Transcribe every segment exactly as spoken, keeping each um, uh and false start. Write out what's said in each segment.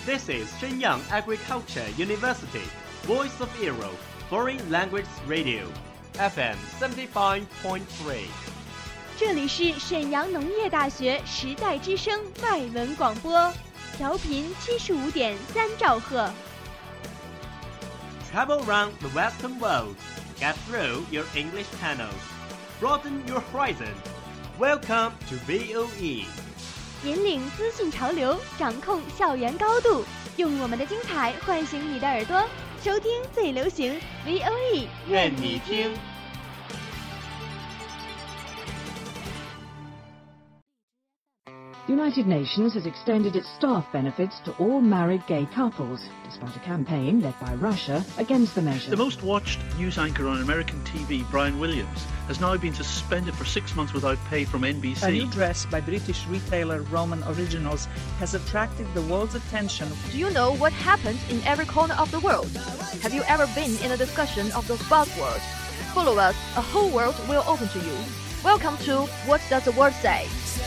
This is Shenyang Agriculture University, Voice of Europe, Foreign Language Radio, F M seventy-five point three. 这里是沈阳农业大学时代之声外文广播，调频七十五点三兆赫。 Travel around the Western world, get through your English channels, broaden your horizon. Welcome to V O E. 引领资讯潮流，掌控校园高度，用我们的精彩唤醒你的耳朵，收听最流行 V O E， 愿你听。 The United Nations has extended its staff benefits to all married gay couples, despite a campaign led by Russia against the measure. The most watched news anchor on American T V, Brian Williams, has now been suspended for six months without pay from N B C. A new dress by British retailer Roman Originals has attracted the world's attention. Do you know what happens in every corner of the world? Have you ever been in a discussion of those buzzwords? Follow us, a whole world will open to you. Welcome to What Does the World Say?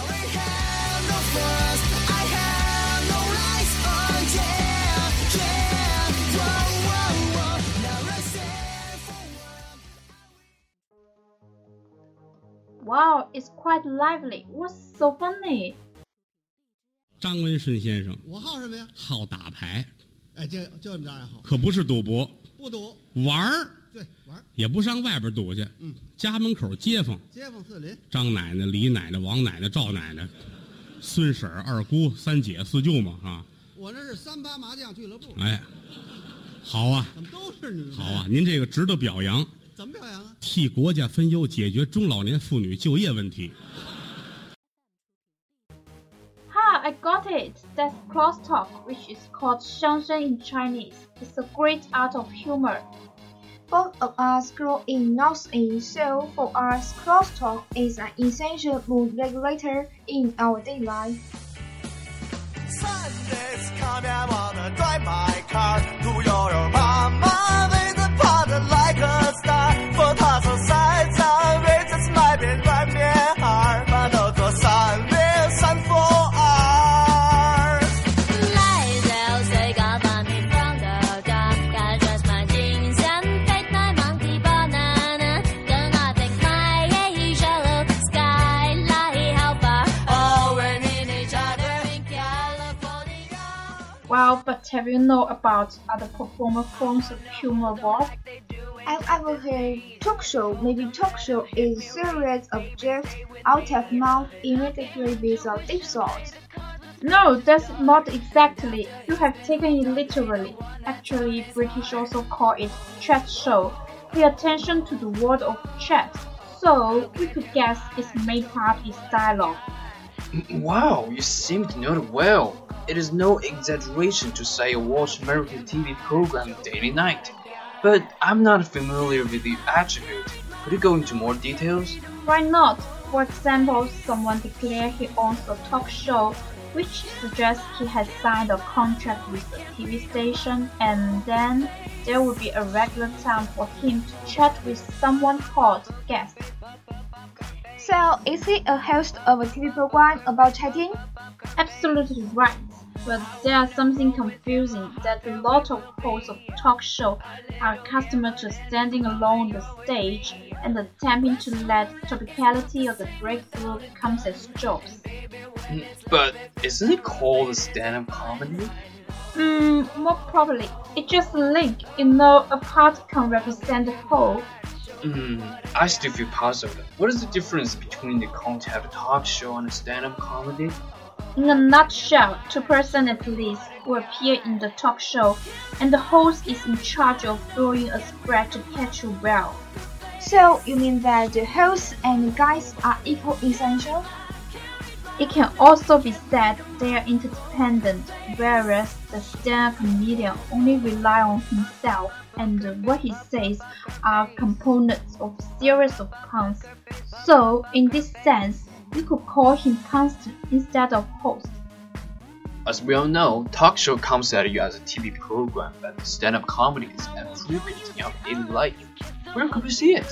Wow, it's quite lively. What's so funny? 张文顺先生， 我好什么呀？ 好打牌。 哎，就就你这爱好。 可不是赌博， 不赌， 玩儿。 对，玩儿。 也不上外边赌去。 嗯。 家门口街坊。 街坊四邻。 张奶奶、李奶奶、王奶奶、赵奶奶，孙婶儿、二姑、三姐、四舅嘛啊。 我这是三八麻将俱乐部。 哎，好啊。 怎么都是你？ 好啊，您这个值得表扬。 怎么表扬啊？ 替国家分忧，解决中老年妇女就业问题。 Ha, I got it. That's crosstalk, which is called 相声 in Chinese. It's a great art of humor. Both of us grew in Northeast, so for us, crosstalk is an essential mood regulator in our daily life. Sundays come and wanna drive my car to your mama with a part like a star. for 他从赛场为这次买遍软面儿，把都做三面三佛儿。 来到世界把你放到家，假裝滿精神，take my monkey banana， 跟我 take my yellow skyline how far， 哦，為你你家的 in California。 Well, but have you know about other performer forms of humor, Bob? I've ever heard talk show. Maybe talk show is a series of jokes out of mouth immediately with a deep thought. No, that's not exactly. You have taken it literally. Actually, British also call it chat show. Pay attention to the word of chat. So, we could guess its main part is dialogue. Wow, you seem to know it well. It is no exaggeration to say I watch American T V program daily night. But I'm not familiar with the attribute. Could you go into more details? Why not? For example, someone declares he owns a talk show, which suggests he has signed a contract with a T V station, and then there will be a regular time for him to chat with someone called guest. So, is he a host of a T V program about chatting? Absolutely right. But there's something confusing that a lot of hosts of talk show are accustomed to standing alone on the stage and attempting to let topicality of the breakthrough come as jokes. But isn't it called a stand-up comedy? Hmm, more probably. It's just a link. You know, a part can represent the whole. Hmm, I still feel puzzled. What is the difference between the concept of talk show and a stand-up comedy? In a nutshell, two persons at least who appear in the talk show, and the host is in charge of throwing a spread to catch a whale. So, you mean that the host and the guests are equally essential? It can also be said they are interdependent, whereas the stand-up comedian only relies on himself, and what he says are components of a series of puns. So, in this sense, we could call him constant instead of host. As we all know, talk show comes at you as a T V program, but stand-up comedy is appropriate in our daily life. Where could we see it?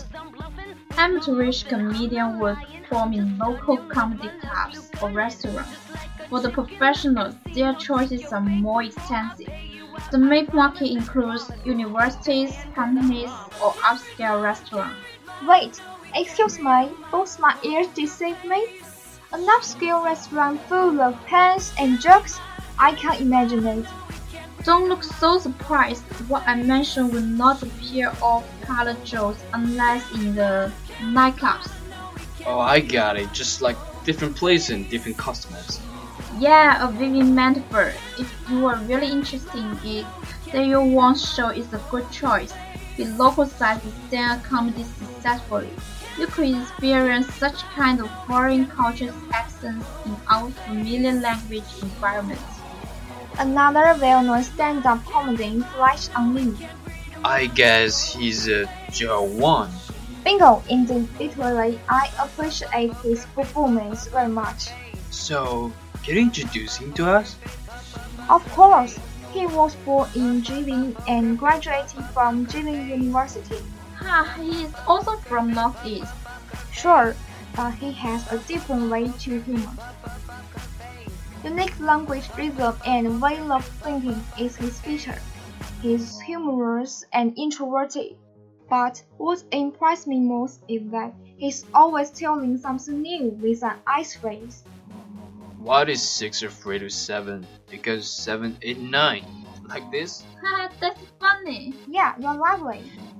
Amateurish comedians would perform in local comedy clubs or restaurants. For the professionals, their choices are more extensive. The main market includes universities, companies, or upscale restaurants. Wait, excuse me, both my ears deceive me? An upscale restaurant full of pans and jugs? I can't imagine it. Don't look so surprised. What I mentioned will not appear off-color jokes unless in the nightclubs. Oh, I got it. Just like different places and different customers. Yeah, a Vivian Metaphor. If you are really interested in it, then your one show is a good choice. It localizes stand-up comedy successfully. You could experience such kind of foreign cultures accents in our familiar language environment. Another well-known stand-up comedian flashed on me. I guess he's a uh, Joe Wan. Bingo, indeed, literally, I appreciate his performance very much. So, can you introduce him to us? Of course, he was born in Jilin and graduated from Jilin University. Ah, he is also from Northeast. Sure, but he has a different way to humor. Unique language rhythm and way of thinking is his feature. He's humorous and introverted. But what impressed me most is that he's always telling something new with an ice phrase. What is six or three to seven? Because seven, eight, nine. Like this? Haha, that's funny. Yeah, you're lovely.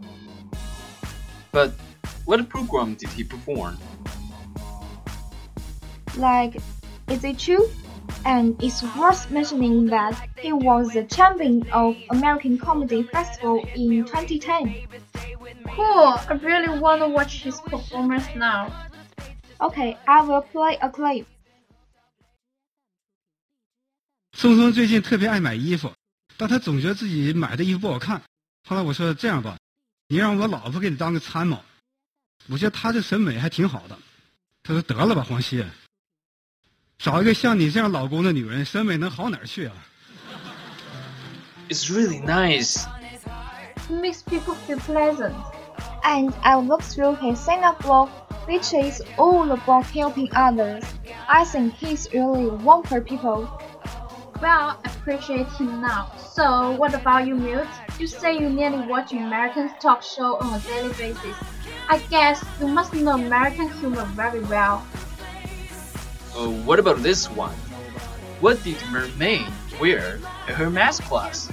But what program did he perform? Like, is it true? And it's worth mentioning that he was the champion of American Comedy Festival in twenty ten. Cool, I really want to watch his performance now. Okay, I will play a clip. 松松最近特别爱买衣服，但他总觉得自己买的衣服不好看。后来我说这样吧，你让我老婆给你当个参谋，我觉得他这审美还挺好的。他说得了吧，黄西，找一个像你这样老公的女人，审美能好哪儿去啊 ？It's really nice. It makes people feel pleasant. And I looked through his stand-up blog, which is all about helping others. I think he's really one for people. Well, I appreciate him now. So, what about you, Mute? You say you nearly watch American talk show on a daily basis. I guess you must know American humor very well. Uh, what about this one? What did Mermaid wear at her math class?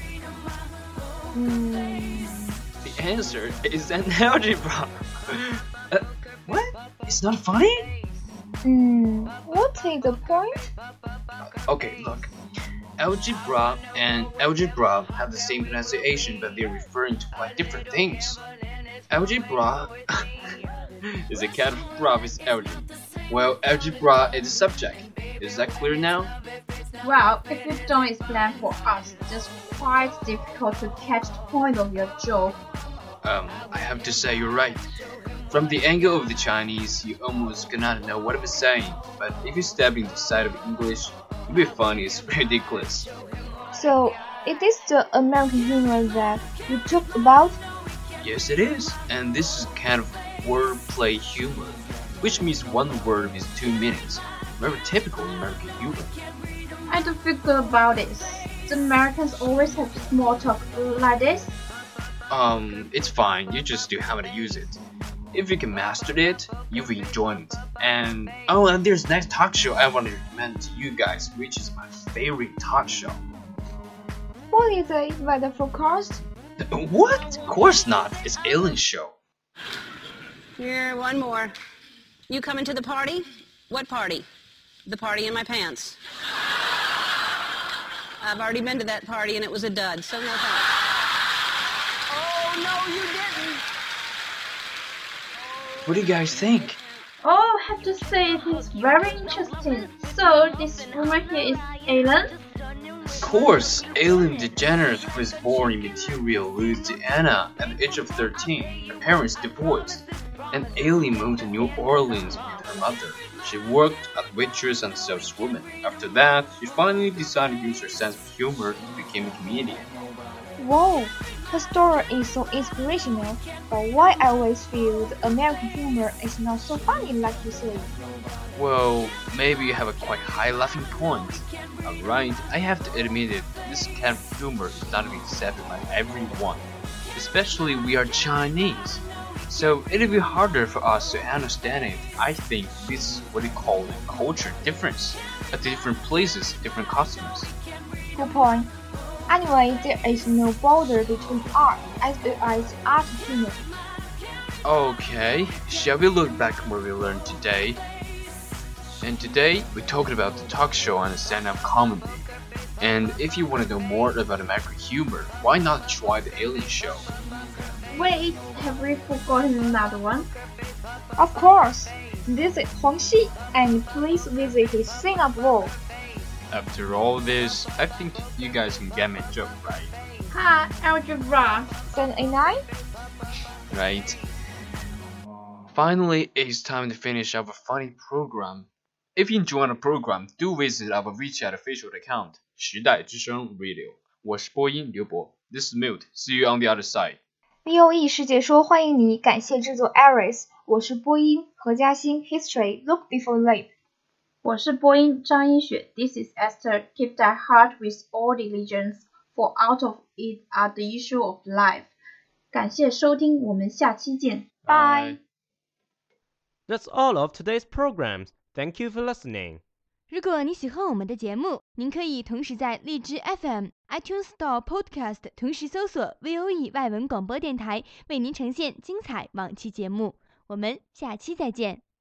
Mm. The answer is an algebra. uh, what? It's not funny? Mm, what is the point? Okay, look. Algebra and algebra have the same pronunciation, but they're referring to quite different things. Algebra is a kind of graph with algebra. Well, algebra is the subject. Is that clear now? Well, if you don't explain for us, it's quite difficult to catch the point of your joke. Um, I have to say you're right. From the angle of the Chinese, you almost cannot know what I'm saying, but if you step into the side of English, it'll be funny, it's ridiculous. So, it is the American humor that you talked about? Yes, it is, and this is kind of wordplay humor, which means one word is two minutes. Very typical American humor. I don't feel good about this. The Americans always have small talk like this. Um, it's fine, you just do how to use it. If you can master it, you'll enjoy it. And oh, and there's next talk show I want to recommend to you guys, which is my favorite talk show. What is it? Weather forecast? What? Of course not. It's Ellen show. Here, one more. You coming to the party? What party? The party in my pants. I've already been to that party and it was a dud, so no thanks. Oh, no, you didn't. What do you guys think? Oh, I have to say it is very interesting. So, this woman here is Ellen? Of course, Ellen DeGeneres was born in Material, Louisiana at the age of thirteen. Her parents divorced, and Ellen moved to New Orleans with her mother. She worked as a waitress and saleswoman. After that, she finally decided to use her sense of humor and became a comedian. Whoa, Her story is so inspirational, but why I always feel the American humor is not so funny like you say? Well, maybe you have a quite high laughing point. Alright, I have to admit it, this kind of humor is not being accepted by everyone. Especially we are Chinese. So it'll be harder for us to understand it. I think this is what we call a culture difference. At different places, different customs. Good point. Anyway, there is no border between art as well as art and humor. Okay, shall we look back what we learned today? And today, we talked about the talk show and the stand-up comedy. And if you want to know more about American humor, why not try the Alien Show? Wait, have we forgotten another one? Of course! Visit Huang Xi and please visit his Singapore. After all this, I think you guys can get my joke, right? Ha, algebra. Then a nine? Right. Finally, it's time to finish our funny program. If you enjoyed the program, do visit our WeChat official account, 时代之声 Radio. 我是播音刘博 This is Mute. See you on the other side. V O E 世界说欢迎你，感谢制作 Aris， 我是播音何嘉欣 History Look Before Leap。 我是播音张一雪 This is Esther. Keep thy heart with all diligence, for out of it are the issue of life. 感谢收听，我们下期见。 Bye. That's all of today's programs. Thank you for listening. 如果你喜欢我们的节目，您可以同时在荔枝 F M、iTunes Store Podcast 同时搜索 V O E 外文广播电台，为您呈现精彩往期节目。我们下期再见。